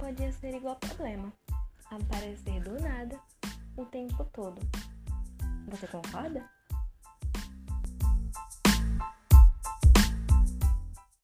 podia ser igual problema, aparecer do nada o tempo todo. Você concorda?